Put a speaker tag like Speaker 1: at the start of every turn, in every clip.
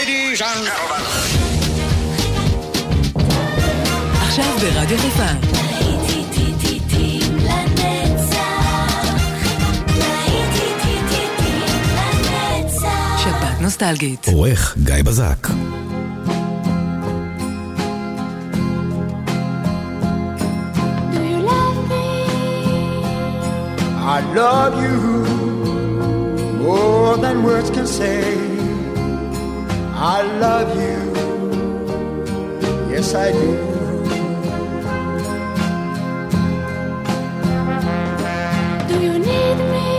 Speaker 1: Ladies and gentlemen.
Speaker 2: עכשיו ברדיו חיפה. שבת נוסטלגית.
Speaker 3: עורך גיא בזק.
Speaker 4: I love you more than words can say. I love you, yes I do.
Speaker 5: Do you need me?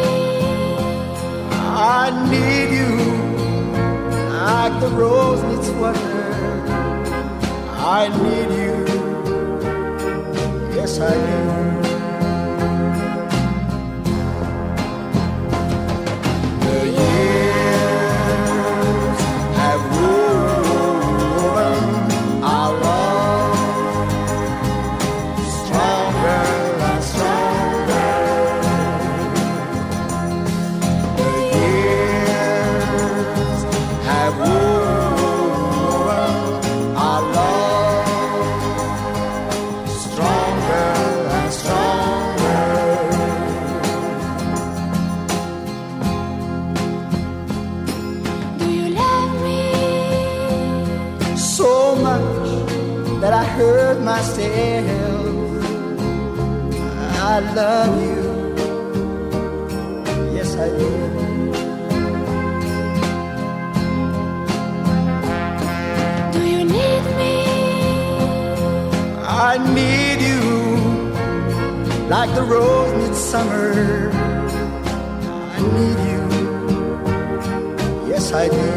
Speaker 4: I need you like the rose needs water. I need you, yes I do. Hurt myself. I love you, yes I do.
Speaker 5: Do you need me?
Speaker 4: I need you like the rose needs summer. I need you, yes I do.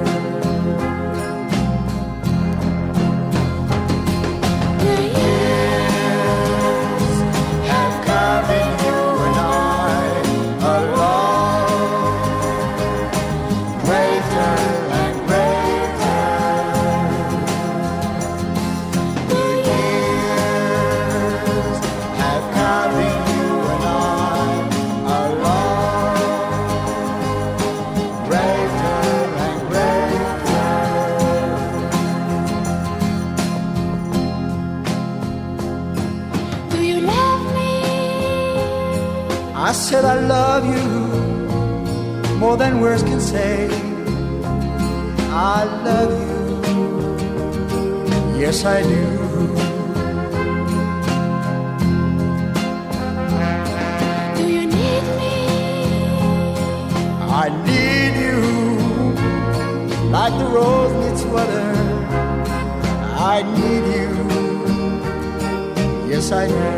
Speaker 4: I said I love you more than words can say. I love you, yes I do.
Speaker 5: Do you need me?
Speaker 4: I need you like the rose needs water. I need you, yes I do.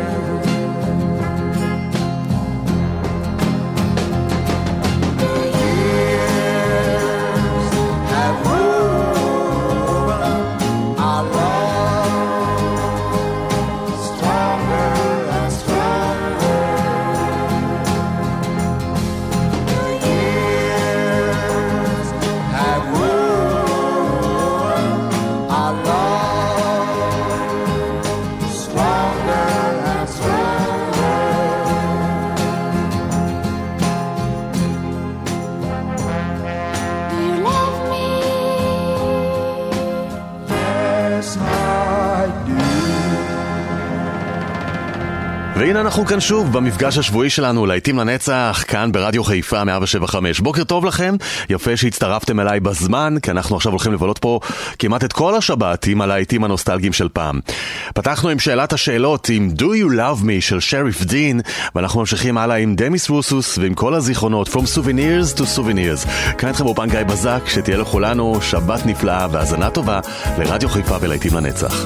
Speaker 6: והנה אנחנו כאן שוב במפגש השבועי שלנו להיטים לנצח, כאן ברדיו חיפה 107.5. בוקר טוב לכם, יפה שהצטרפתם אליי בזמן, כי אנחנו עכשיו הולכים לבלות פה כמעט את כל השבת עם הלהיטים הנוסטלגיים של פעם. פתחנו עם שאלת השאלות עם Do You Love Me של שריף דין, ואנחנו ממשיכים הלאה עם דמיס רוסוס ועם כל הזיכרונות From Souvenirs to Souvenirs. כאן איתכם באופן גיא בזק, שתהיה לכולנו שבת נפלאה והזנה טובה לרדיו חיפה ולהיטים לנצח.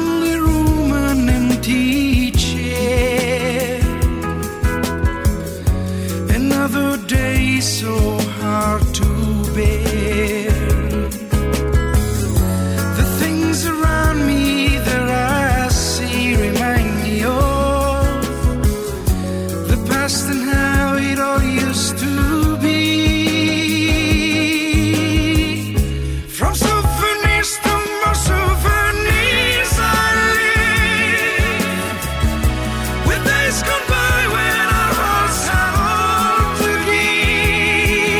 Speaker 7: Another day so hard to bear. The things around me that I see remind me of the past and how it all used to be. From souvenirs to more souvenirs I live, with days gone by when our hearts had all to give.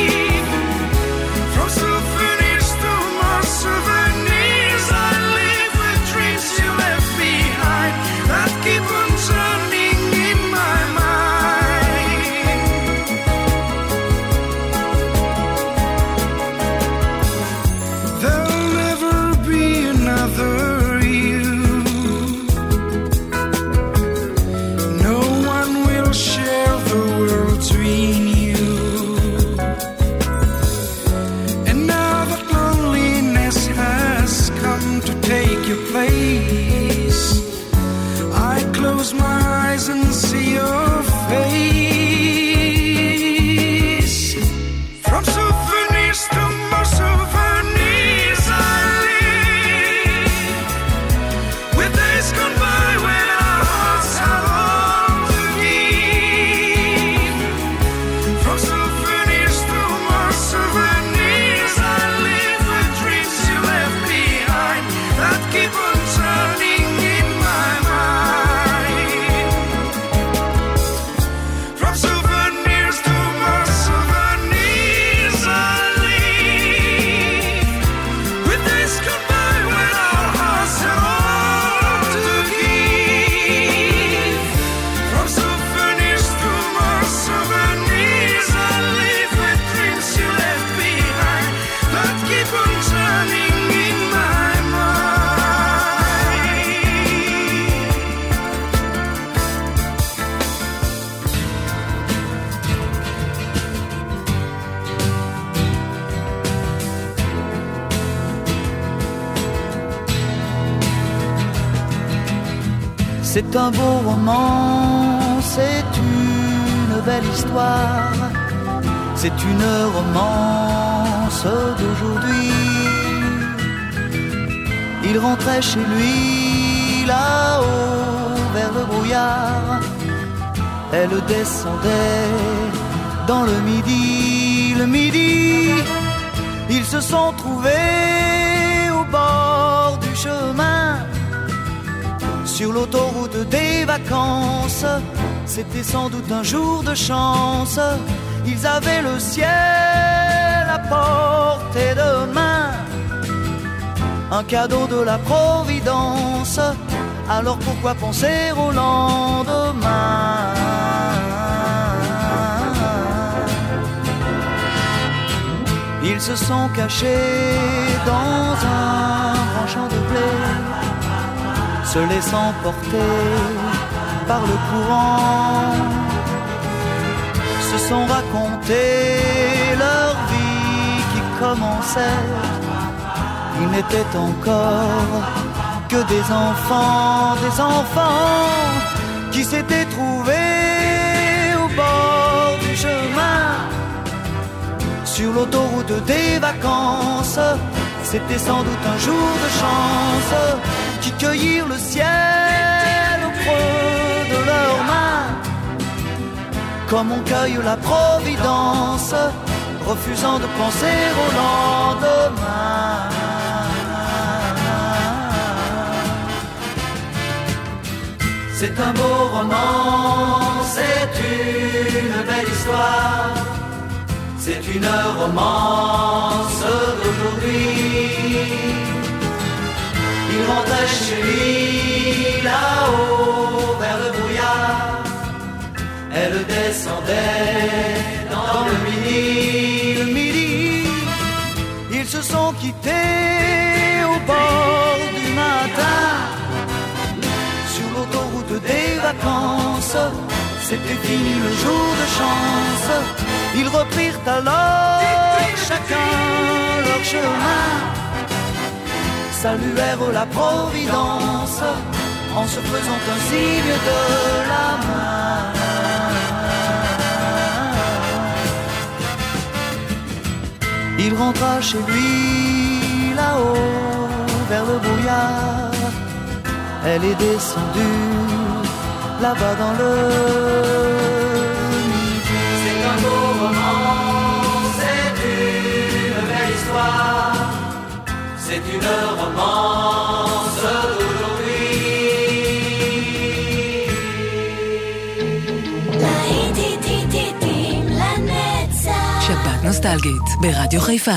Speaker 7: from turning in my mind.
Speaker 1: C'est un beau roman, c'est une belle histoire, c'est une romance d'aujourd'hui. Il rentrait chez lui là-haut vers le brouillard, elle descendait dans le midi, ils se sont trouvés au bord du chemin. Sur l'autoroute des vacances, c'était sans doute un jour de chance. Ils avaient le ciel à portée de main, un cadeau de la Providence. Alors pourquoi penser au lendemain? Ils se sont cachés dans un grand champ de blé, se laissant porter par le courant, se sont raconté leur vie qui commençait. Ils n'étaient encore que des enfants qui s'étaient trouvés au bord du chemin. Sur l'autoroute des vacances, c'était sans doute un jour de chance, qui cueillirent le ciel au creux de leurs mains, comme on cueille la Providence, refusant de penser au lendemain. C'est un beau roman, c'est une belle histoire, c'est une romance d'aujourd'hui. Il rentrait chez lui là-haut vers le brouillard, elle descendait dans le midi. Ils se sont quittés au bord du matin, sur l'autoroute des vacances. C'était fini le jour de chance. Ils reprirent alors chacun leur chemin, saluèrent la Providence en se faisant un signe de la main. Il rentra chez lui là-haut vers le brouillard, elle est descendue là-bas dans le midi. C'est un beau roman, c'est une belle histoire, c'est une romance d'aujourd'hui.
Speaker 2: שבת נוסטלגית ברדיו חיפה.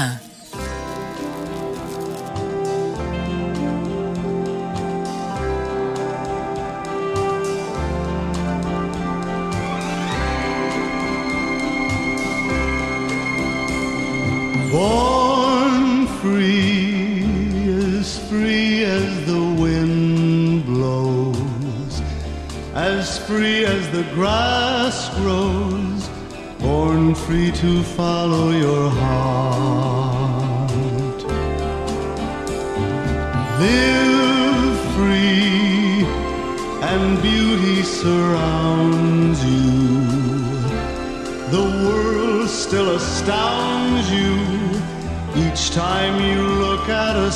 Speaker 3: Born free as the wind blows, as free as the grass grows, born free to follow your heart. Live free and beauty surrounds you. The world still astounds you each time you look at a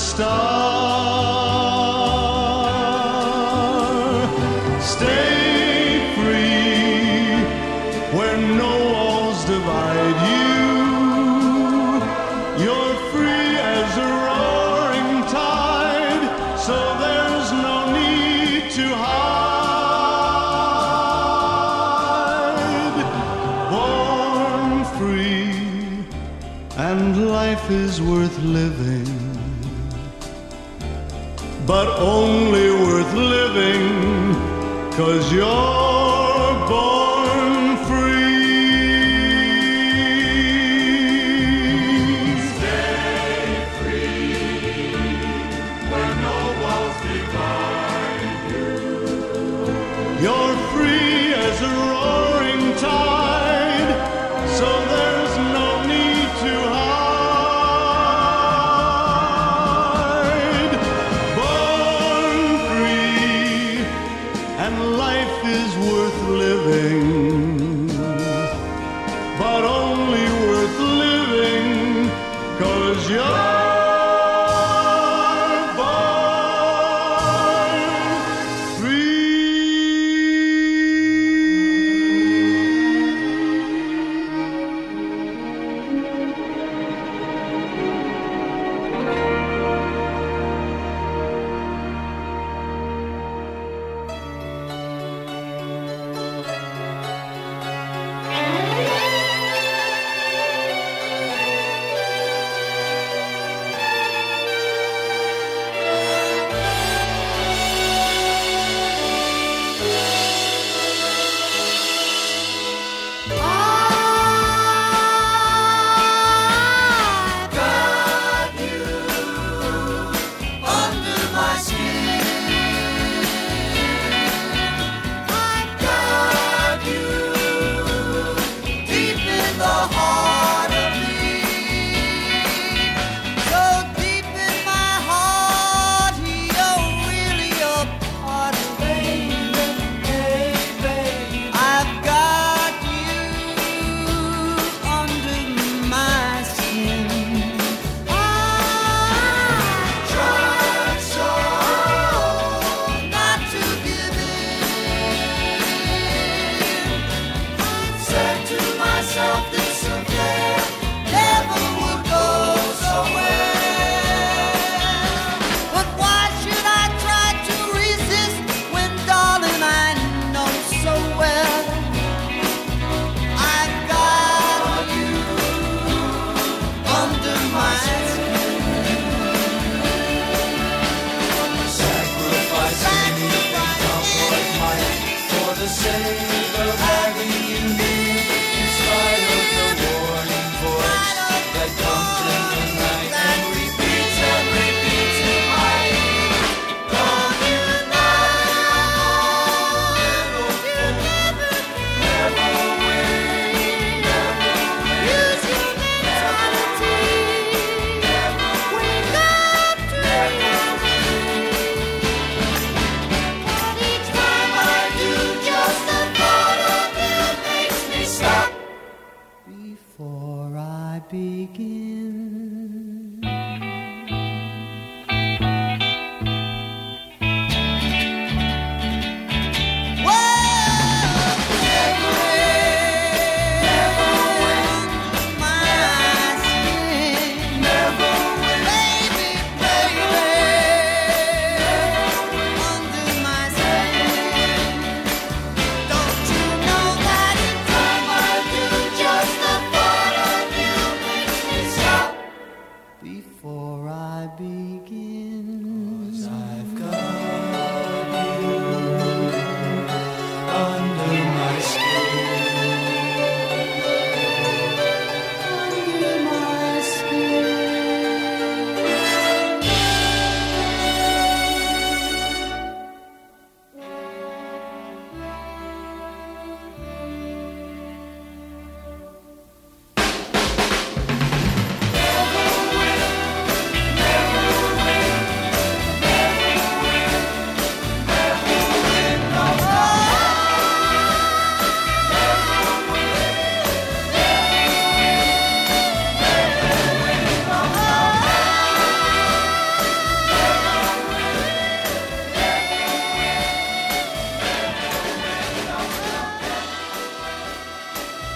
Speaker 3: star. Stay free where no walls divide you. You're free as a roaring tide, so there's no need to hide. Born free, and life is worth living, but only worth living 'cause you're born free. Stay free.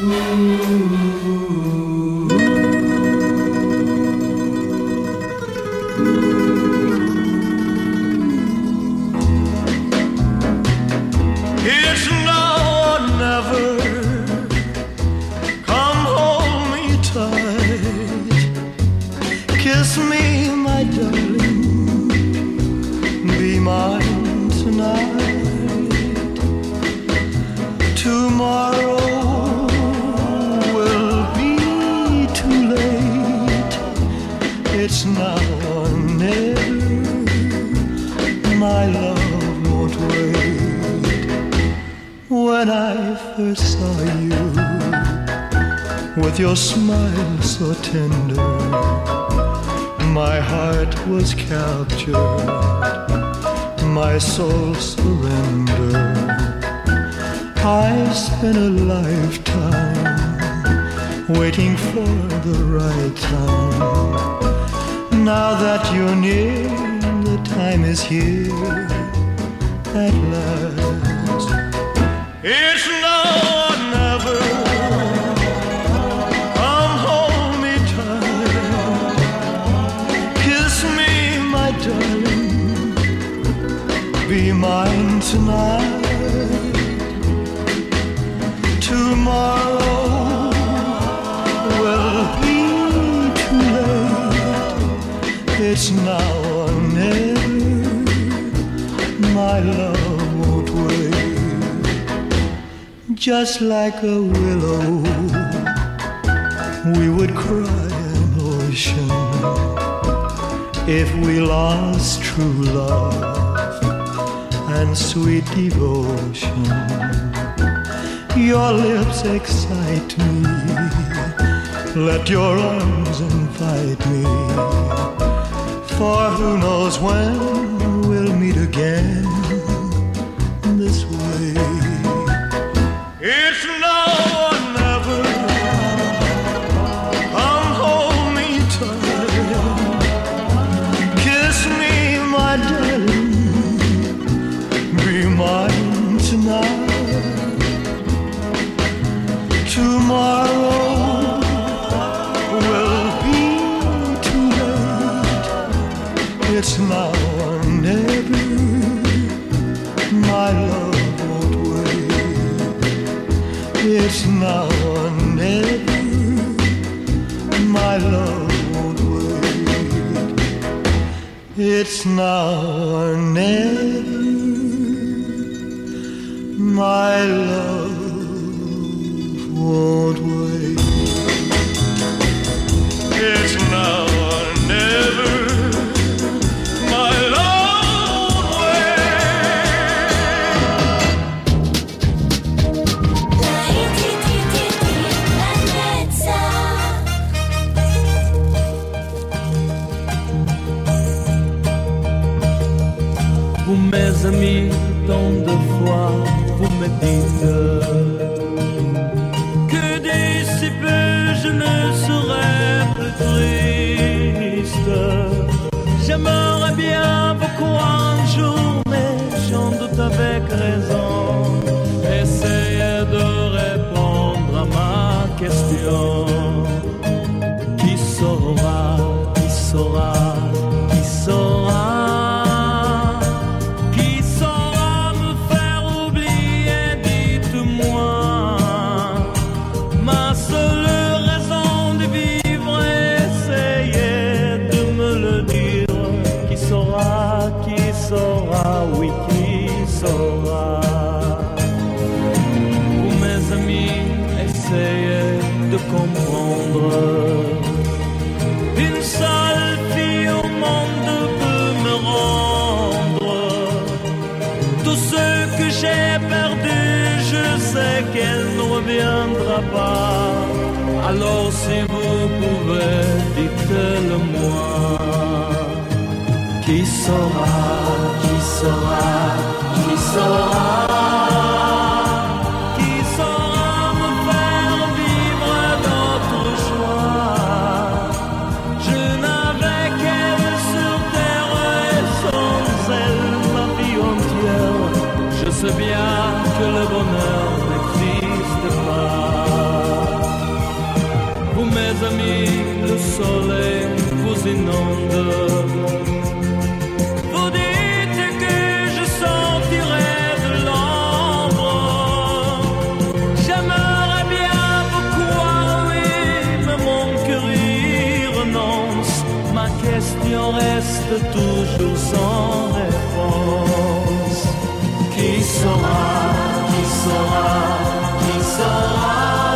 Speaker 3: It's now or never. Come hold me tight. Kiss me, my darling. Be mine tonight. Tomorrow will be too late. It's now or never. My love won't wait. When I first saw you, with your smile so tender, my heart was captured, my soul surrendered. I spent a lifetime waiting for the right time. Now that you're near, the time is here at last. It's now or never. Come hold me tight. Kiss me, my darling. Be mine tonight. Tomorrow will be too late. It's now or never. My love won't wait. Just like a willow, we would cry an ocean if we lost true love and sweet devotion. Your lips excite me. Let your arms invite me. For who knows when we'll meet again this way. It's now or never. Come hold me tight. Kiss me, my darling. Be mine tonight. Tomorrow will be too late. It's now or never. My love won't wait. It's now or never. My love won't wait. It's now or never. My love won't wait. It's now or never. My love won't
Speaker 8: wait. Vous mes amis, tant de fois vous me dites que d'ici peu je ne serai plus triste. J'aimerais bien vous croire un jour, mais j'en doute avec raison. Essayez de répondre à ma question. Qui saura, qui saura, qui saura? Oui, qui saura? Vous, mes amis, essayez de comprendre. Une seule fille au monde peut me rendre tout ce que j'ai perdu. Je sais qu'elle ne reviendra pas. Alors si vous pouvez, dites-le-moi. Qui saura? Qui saura? Qui saura? Qui saura me faire vivre d'autres joies? Je n'avais qu'elle sur terre et sans elle ma vie entière. Je sais bien que le bonheur n'existe pas. le soleil vous inonde. Vous dites que je sortirai de l'ombre. J'aimerais bien vous croire, oui, mais mon cœur y renonce. Ma question reste toujours sans réponse. Qui saura, qui saura, qui saura?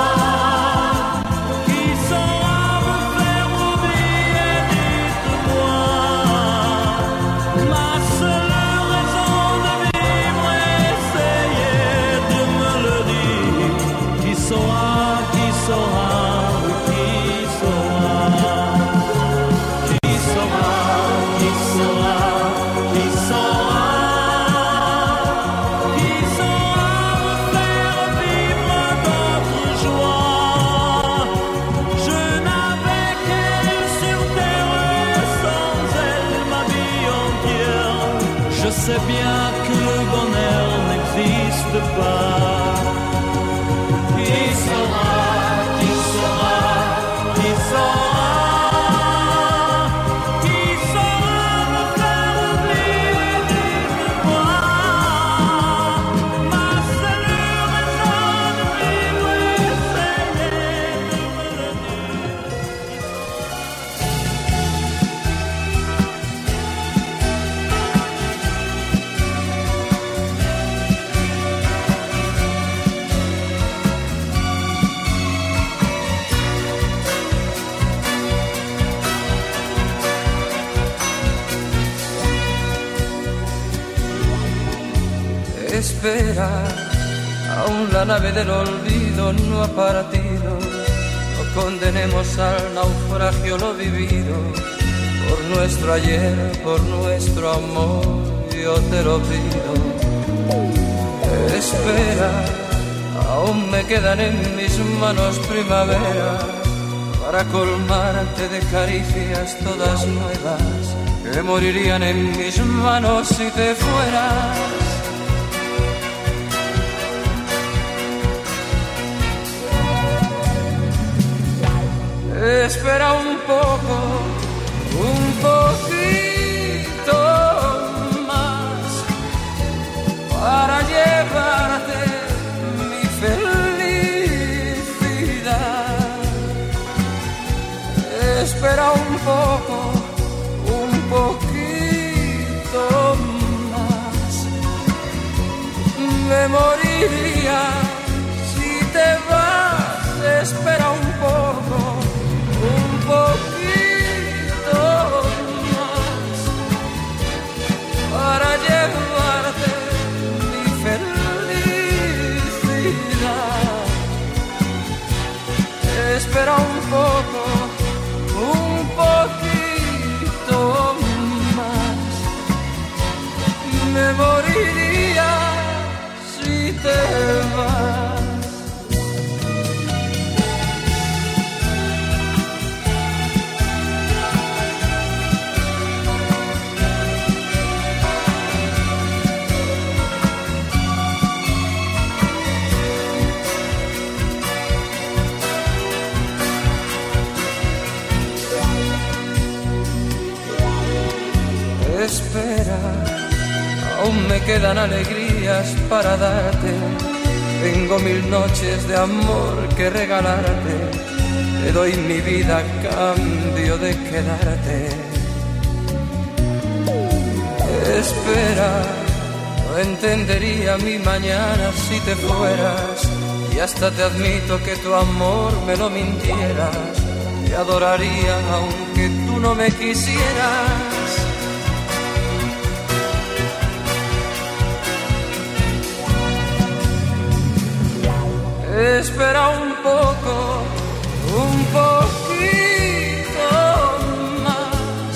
Speaker 9: sais bien que le bonheur n'existe pas. Qui saura, qui saura, qui saura, qui saura me faire oublier, dites-moi. Ma seule raison de vivre, essayez de me le
Speaker 10: Espera, aún la nave del olvido no ha partido. No condenemos al naufragio lo vivido. Por nuestro ayer, por nuestro amor, yo te lo pido. Espera, aún me quedan en mis manos primavera para colmarte de caricias todas nuevas que morirían en mis manos si te fueras. Espera un poco, un poquito más para llevarte mi felicidad. Espera un poco, un poquito más. Me moriría si te vas. Espera un poco. Un poquito más para llevarte mi felicidad. Espera un poco, un poquito más. Me moriría si te vas. Espera, aún me quedan alegrías para darte. Tengo 1000 noches de amor que regalarte. Te doy mi vida a cambio de quedarte. Espera, no entendería mi mañana si te fueras. Y hasta te admito que tu amor me lo mintieras. Te adoraría aunque tú no me quisieras. Espera un poco, un poquito más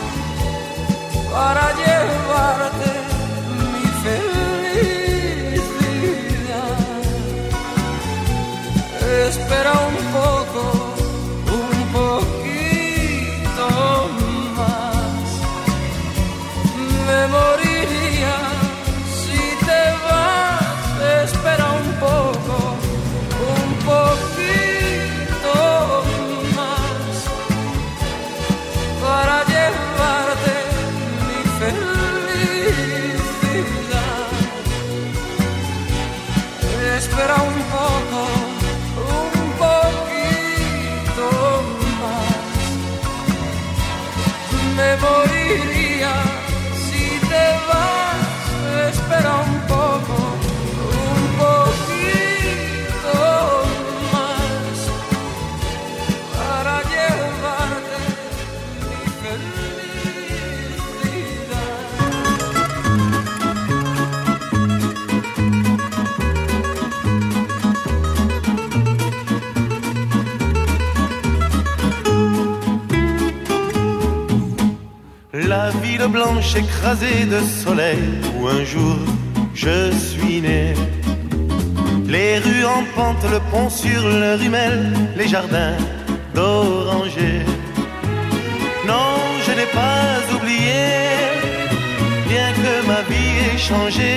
Speaker 10: para llevarte mi felicidad. Espera un poco, un poquito más. diría, si te vas, espera un poco, un poquito más, para llevarte mi felicidad.
Speaker 3: La ville blanche écrasée de soleil où un jour je suis né. Les rues en pente, le pont sur le Rumel, les jardins d'orangers. Non, je n'ai pas oublié, bien que ma vie ait changé.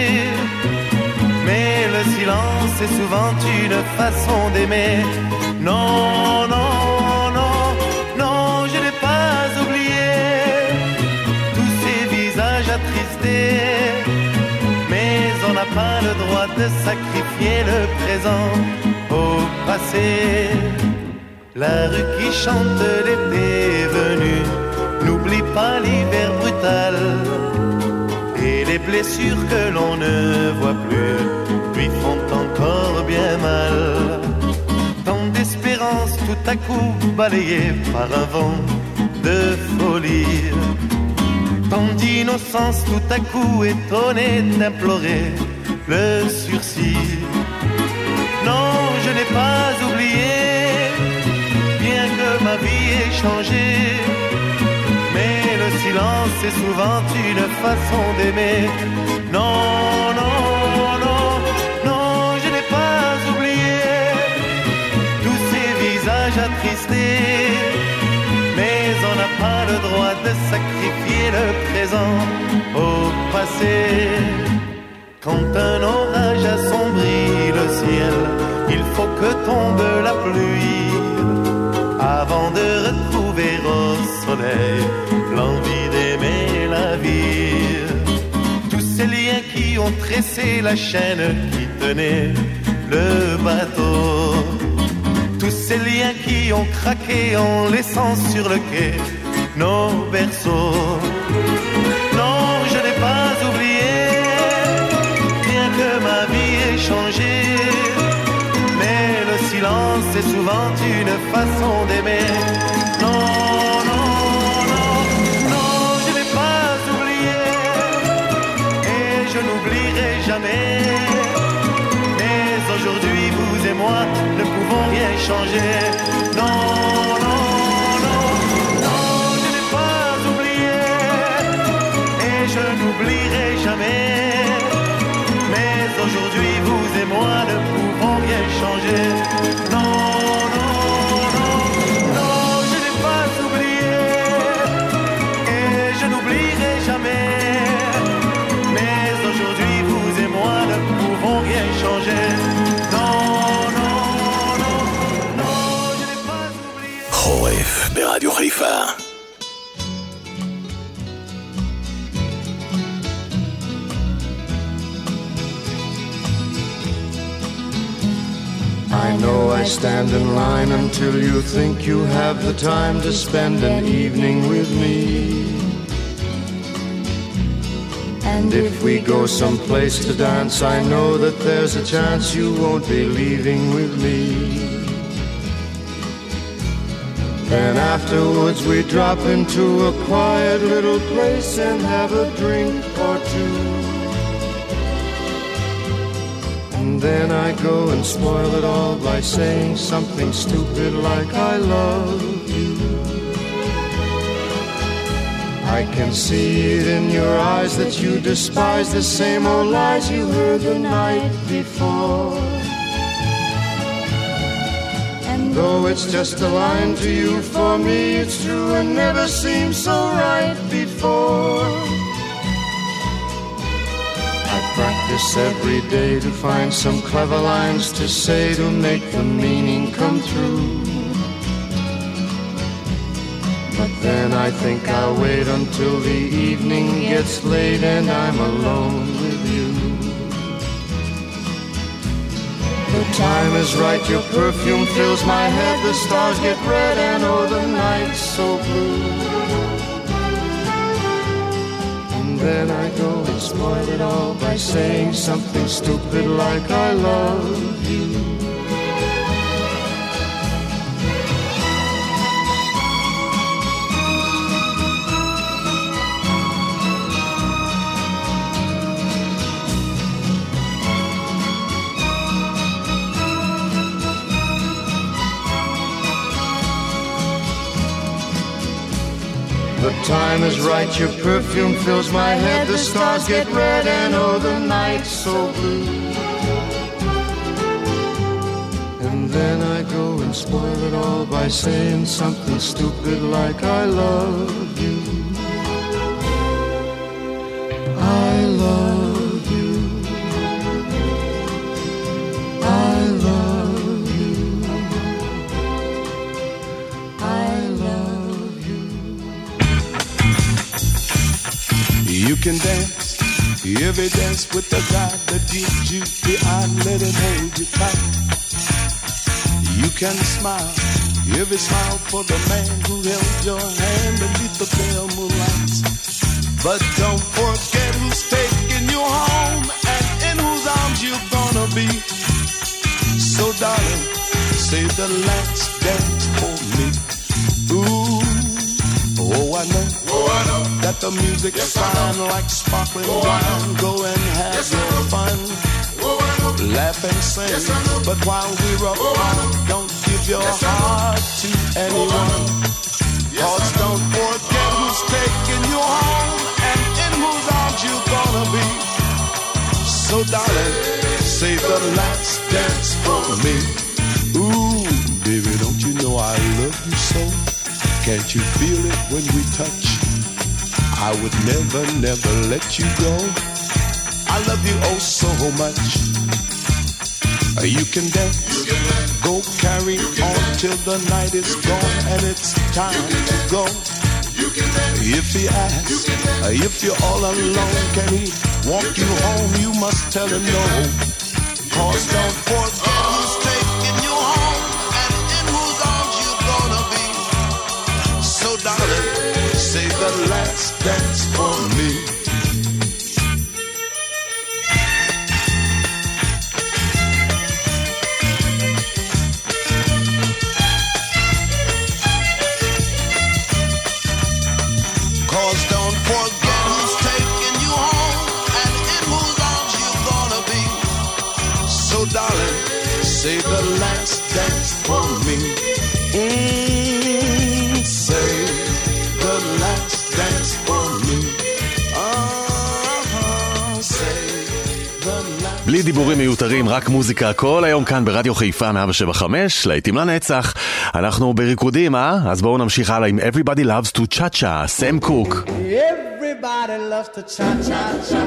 Speaker 3: Mais le silence est souvent une façon d'aimer. Non, non, non, non, je n'ai pas oublié tous ces visages attristés. Mais on n'a pas le droit de sacrifier le présent au passé. La rue qui chante l'été venu n'oublie pas l'hiver brutal. Et les blessures que l'on ne voit plus lui font encore bien mal. Tant d'espérance tout à coup balayée par un vent de folie. Tant d'innocence tout à coup étonnée d'implorer le sursis. Non, je n'ai pas oublié, bien que ma vie ait changé. Mais le silence est souvent une façon d'aimer. Non, non, non, non, je n'ai pas oublié tous ces visages attristés. Mais on n'a pas le droit de sacrifier le présent au passé. Quand un orage assombrit le ciel, il faut que tombe la pluie avant de retrouver au soleil l'envie d'aimer la vie. Tous ces liens qui ont tressé la chaîne qui tenait le bateau, tous ces liens qui ont craqué en laissant sur le quai nos berceaux. Non, je n'ai pas oublié, bien que ma vie ait changé. Mais le silence est souvent une façon d'aimer. Non, non, non, non, je n'ai pas oublié et je n'oublierai jamais. Mais aujourd'hui, vous et moi ne pouvons rien changer. Non, non, non, non, je n'ai pas oublié et je n'oublierai jamais. Mais aujourd'hui, vous et moi ne pouvons rien changer. Non, non, non, non, je n'ai pas oublié et je n'oublierai jamais. Mais aujourd'hui, vous et moi ne pouvons rien changer. Non, non, non, non, je n'ai pas oublié.
Speaker 11: חורף ברדיו חיפה.
Speaker 12: I know I stand in line until you think you have the time to spend an evening with me. And if we go someplace to dance, I know that there's a chance you won't be leaving with me. Then afterwards we drop into a quiet little place and have a drink or two. And then I go and spoil it all by saying something stupid like I love you. I can see it in your eyes that you despise the same old lies you heard the night before. And though it's just a line to you, for me it's true and never seemed so right before. I practice every day to find some clever lines to say to make the meaning come through. But then I think I'll wait until the evening gets late and I'm alone with you. The time is right, your perfume fills my head, the stars get red and oh the night's so blue. spoil it all by saying something stupid like I love you. The time is right, your perfume fills my head, the stars get red and oh the night's so blue. And then I go and spoil it all by saying something stupid like I love you. I love you. I love you. I love you.
Speaker 13: You can dance, every dance with the guy that gives you the eye, let him hold you tight. You can smile, every smile for the man who held your hand beneath the pale moonlights. But don't forget who's taking you home and in whose arms you're gonna be. So darling, save the last dance for me. Ooh, oh I know that the music is fine like sparkling wine. Go and have your fun, laugh and sing. But while we're apart, don't give your heart to anyone. Cause don't forget who's taking you home and in whose arms you're gonna be. So darling, save the last dance for me. Ooh, baby, don't you know I love you so? Can't you feel it when we touch? I would never, never let you go. I love you oh so much. You can dance, go carry on till the night is gone and it's time to go. If he asks, if you're all alone, can he walk you home? You must tell him no. Cause don't forget who's taking you home and in whose arms you're gonna be. So darling, save the last dance for me. Cause don't forget who's taking you home and in whose arms you're gonna be. So darling, save the last dance for me. Save the last dance for me.
Speaker 6: בלי דיבורים מיותרים, רק מוזיקה כל היום כאן ברדיו חיפה 175, להיטים לנצח. אנחנו בריקודים, אז בואו נמשיך הלאה עם Everybody Loves to Cha-Cha, סם קוק.
Speaker 4: Everybody loves to cha-cha-cha.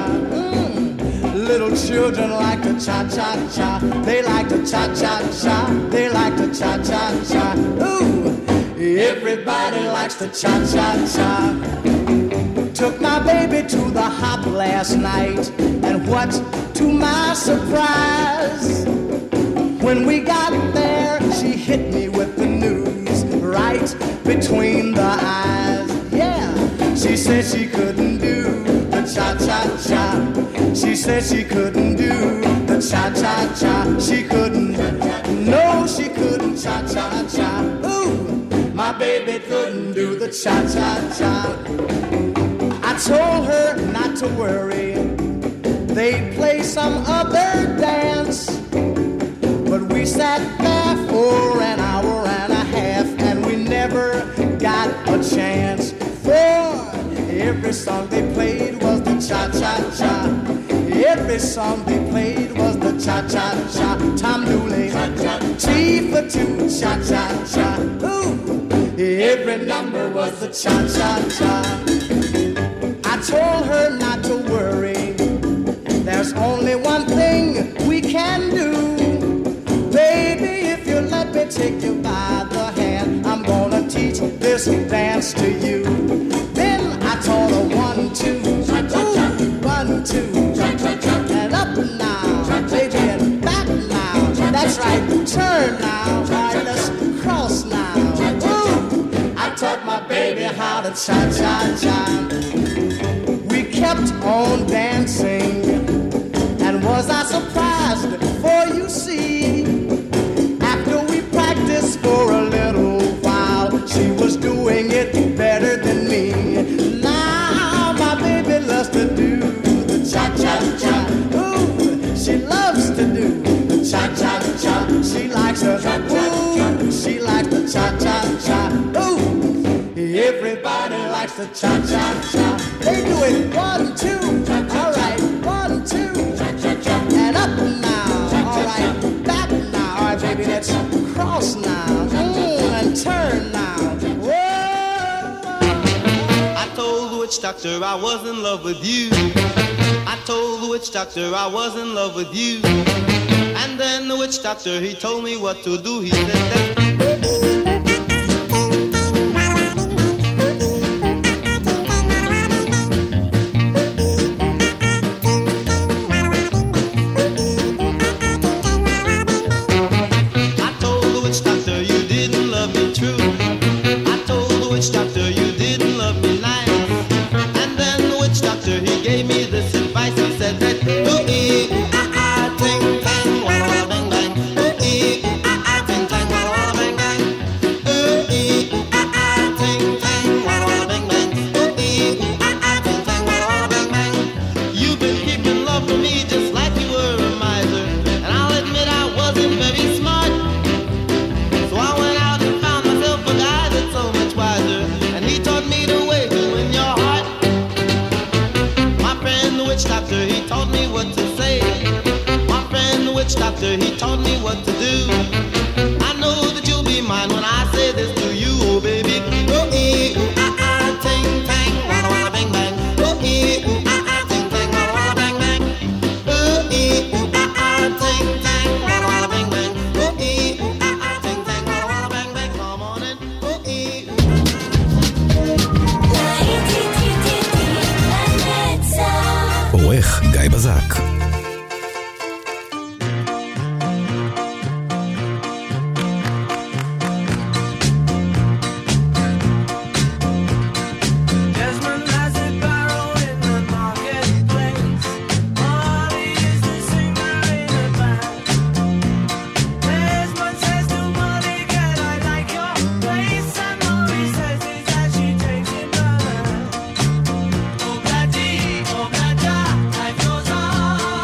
Speaker 4: Little children like to cha-cha-cha. They like to cha-cha-cha. They like to cha-cha-cha. Ooh, everybody likes to cha-cha-cha. Took my baby to the hop last night, and what to my surprise, when we got there, she hit me with the news right between the eyes. Yeah, she said she couldn't do the cha-cha-cha. She said she couldn't do the cha-cha-cha. She couldn't, no, she couldn't cha-cha-cha. Ooh, my baby couldn't do the cha-cha-cha. I told her not to worry, they'd play some other dance. But we sat there for an hour and a half, and we never got a chance. For every song they played was the cha-cha-cha. Every song they played was the cha-cha-cha. Tom Dooley, T for two, cha-cha-cha. Ooh, every number was the cha-cha-cha. I told her not to worry, there's only one thing we can do. Baby, if you let me take you by the hand, I'm gonna teach this dance to you. Then I taught her 1, 2, ooh, 1, 2, and up now, baby, and back now. That's right, turn now, all right, let's cross now. Ooh, I taught my baby how to cha-cha-cha. We kept on dancing to cha-cha-cha. They do it 1, 2, all right, 1, 2, and up now, all right, back now, all right, baby, let's cross now, and turn now. Whoa!
Speaker 3: I told the witch doctor I was in love with you. I told the witch doctor I was in love with you. And then the witch doctor, he told me what to do. He said that he taught me what to do. I know that you'll be mine when I say this to you, oh baby. Oh ee ooh ah ah ting tang walla walla bang bang. Oh ee ooh ah ah ting tang walla walla bang bang. Oh ee ooh ah ah ting tang walla walla bang bang. Oh ee ooh ah ah ting tang walla walla bang bang. Come on in. Oh ee.
Speaker 11: עורך גיא בזק.
Speaker 9: Oh, God, life goes on.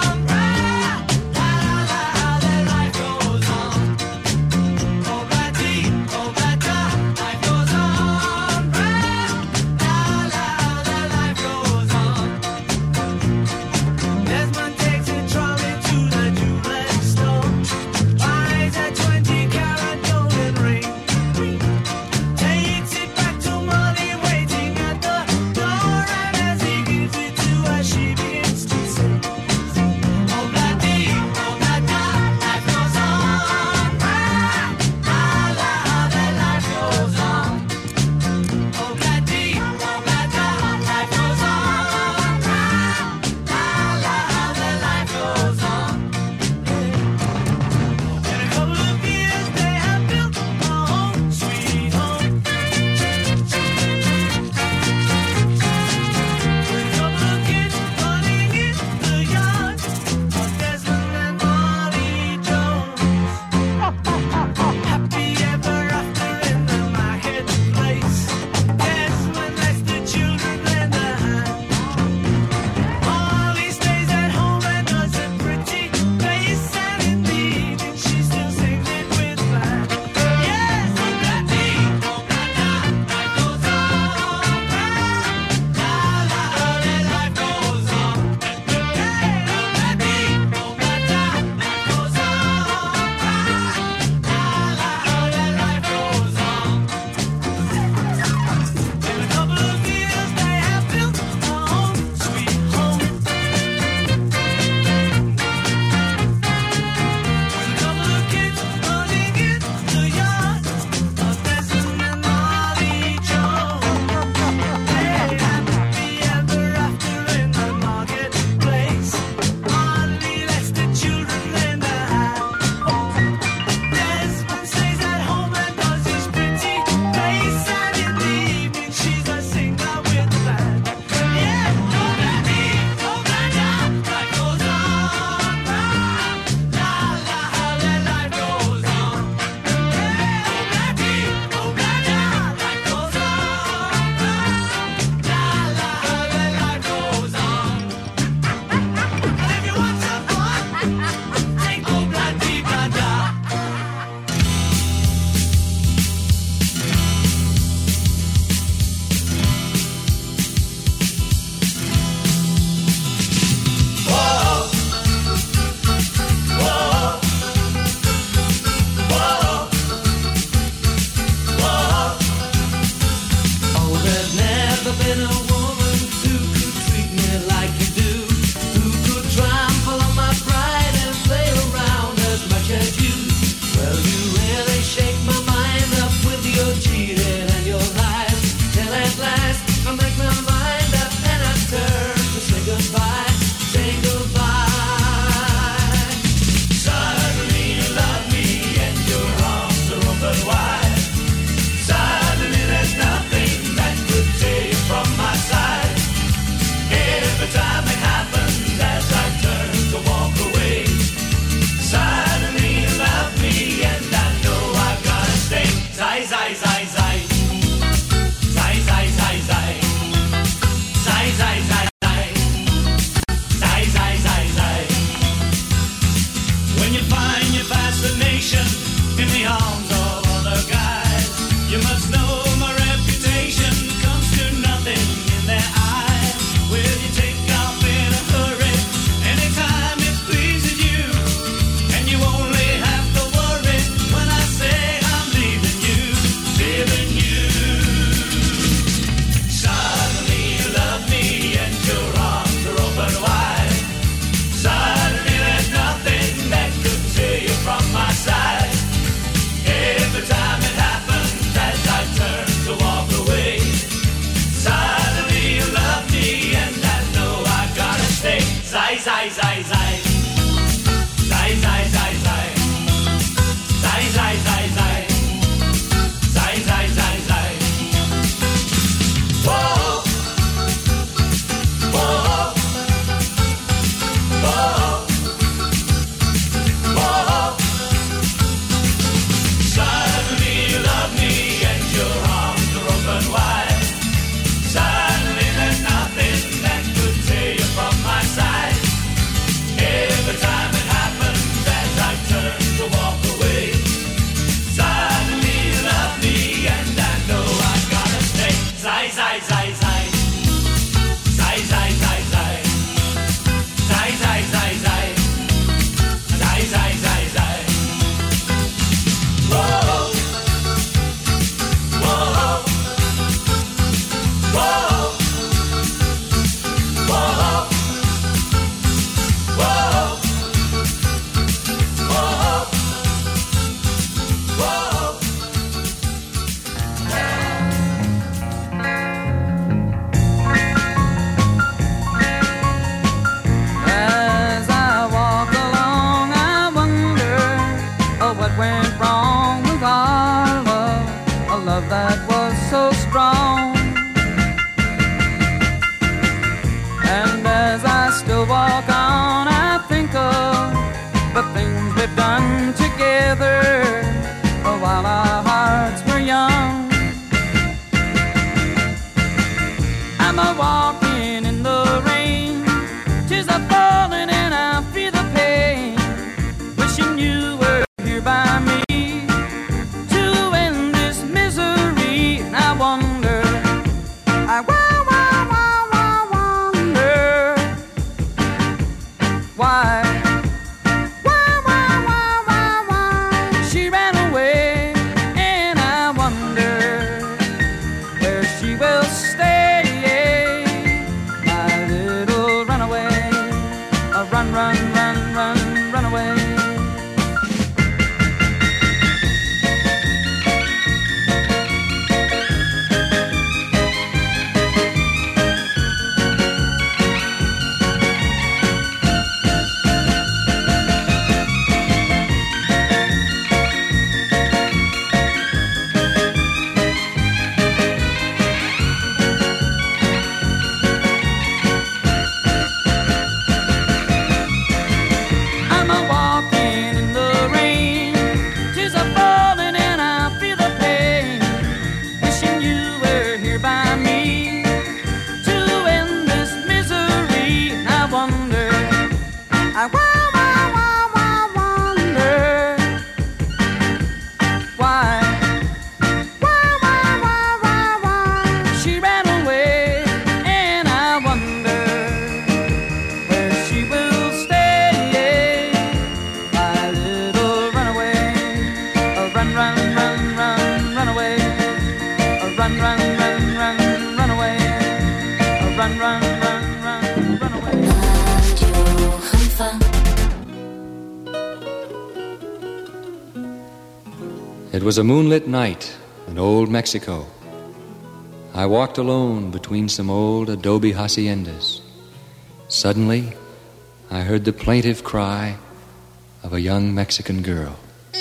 Speaker 10: was a moonlit night in old Mexico. I walked alone between some old adobe haciendas. Suddenly, I heard the plaintive cry of a young Mexican girl.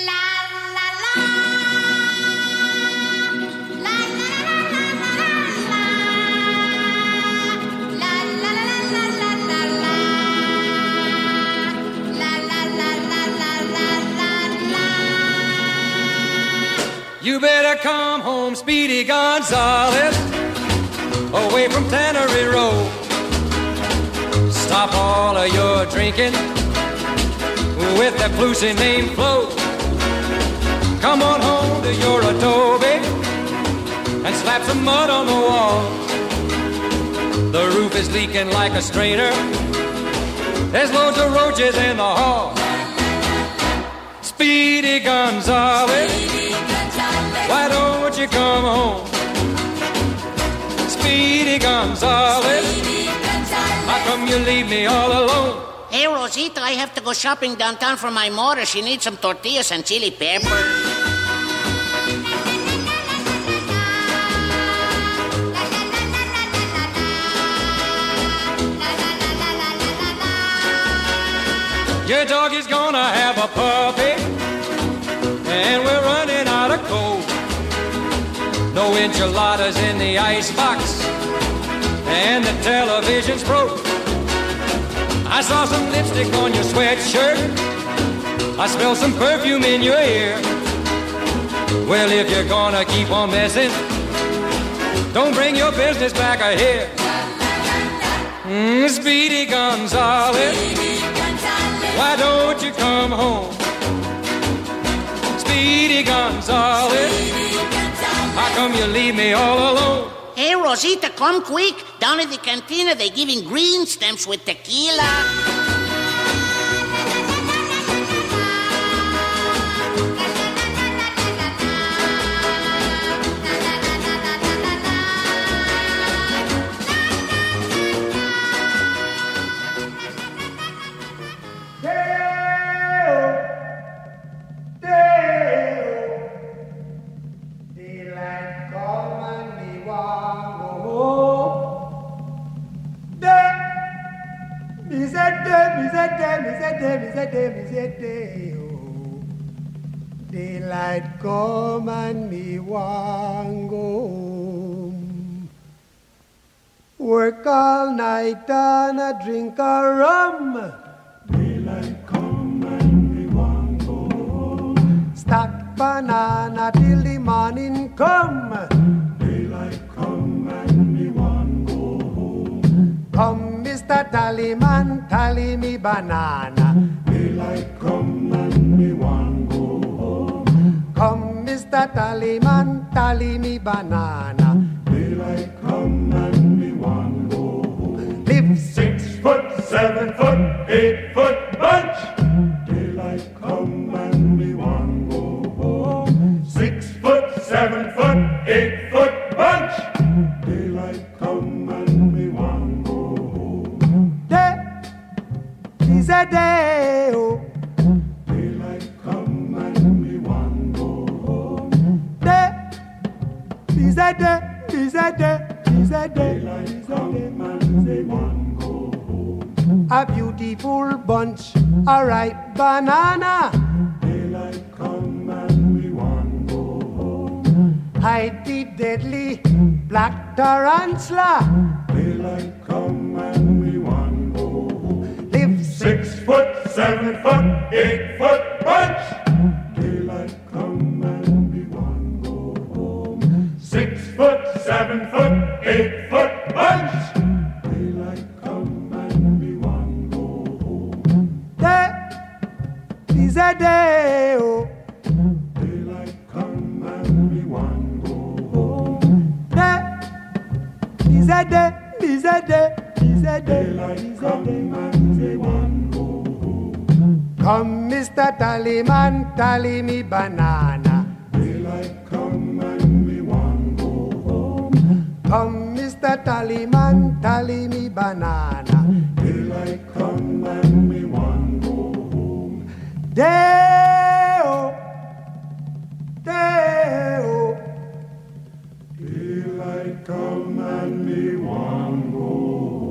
Speaker 10: You better come home, Speedy Gonzales, away from Tannery Row. Stop all of your drinking with that Flusy named Flo. Come on home to your adobe and slap some mud on the wall. The roof is leaking like a strainer. There's loads of roaches in the hall. Speedy Gonzales, why don't you come home? Speedy Gonzales, how come you leave me all alone?
Speaker 14: Hey, Rosita, I have to go shopping downtown for my mother. She needs some tortillas and chili pepper.
Speaker 10: Your dog is gonna have a puppy, and we're running out of coal. No enchiladas in the icebox, and the television's broke. I saw some lipstick on your sweatshirt. I smell some perfume in your ear. Well, if you're gonna keep on messing, don't bring your business back here. Speedy Gonzales, why don't you come home? Speedy Gonzales, how come you leave me all alone?
Speaker 14: Hey, Rosita, come quick. Down at the cantina, they're giving green stamps with tequila.
Speaker 4: Daylight come and me want go home. Work all night and a drink a rum. Daylight come and me want go home. Stack banana till the morning come. Daylight come and me want go home. Come, Mr. Tallyman, tally me banana. Daylight come and me want go home. Come, Mr. Tallyman, tally me banana. Daylight come and me want go home. Live 6 foot, 7 foot, 8 foot bunch. Daylight come and me want go home. 6 foot, 7 foot, 8 foot bunch. Daylight come and me want go home. Day is a day, oh. Daylight come and me want go home. Day is a day, is a day, is a day. Daylight come and me want go home. A beautiful bunch, a ripe banana. Daylight come and me want go home. Hide the deadly black tarantula. Daylight come and me want go home. Live 6 foot, 7 foot, 8 foot bunch. Daylight come and me want go home. 6 foot, 7 foot, 8 foot bunch. Daylight come and me want go home. Day is a day, oh. Daylight come and me want go home. Day is a day, is a day, is a day. Daylight come and me want go home. Come, Mr. Tallyman, tally me banana. Daylight come and me want go home. Come, Mr. Tallyman, tally me banana. Daylight come and me want go home. Day-o, day.
Speaker 12: come and me one go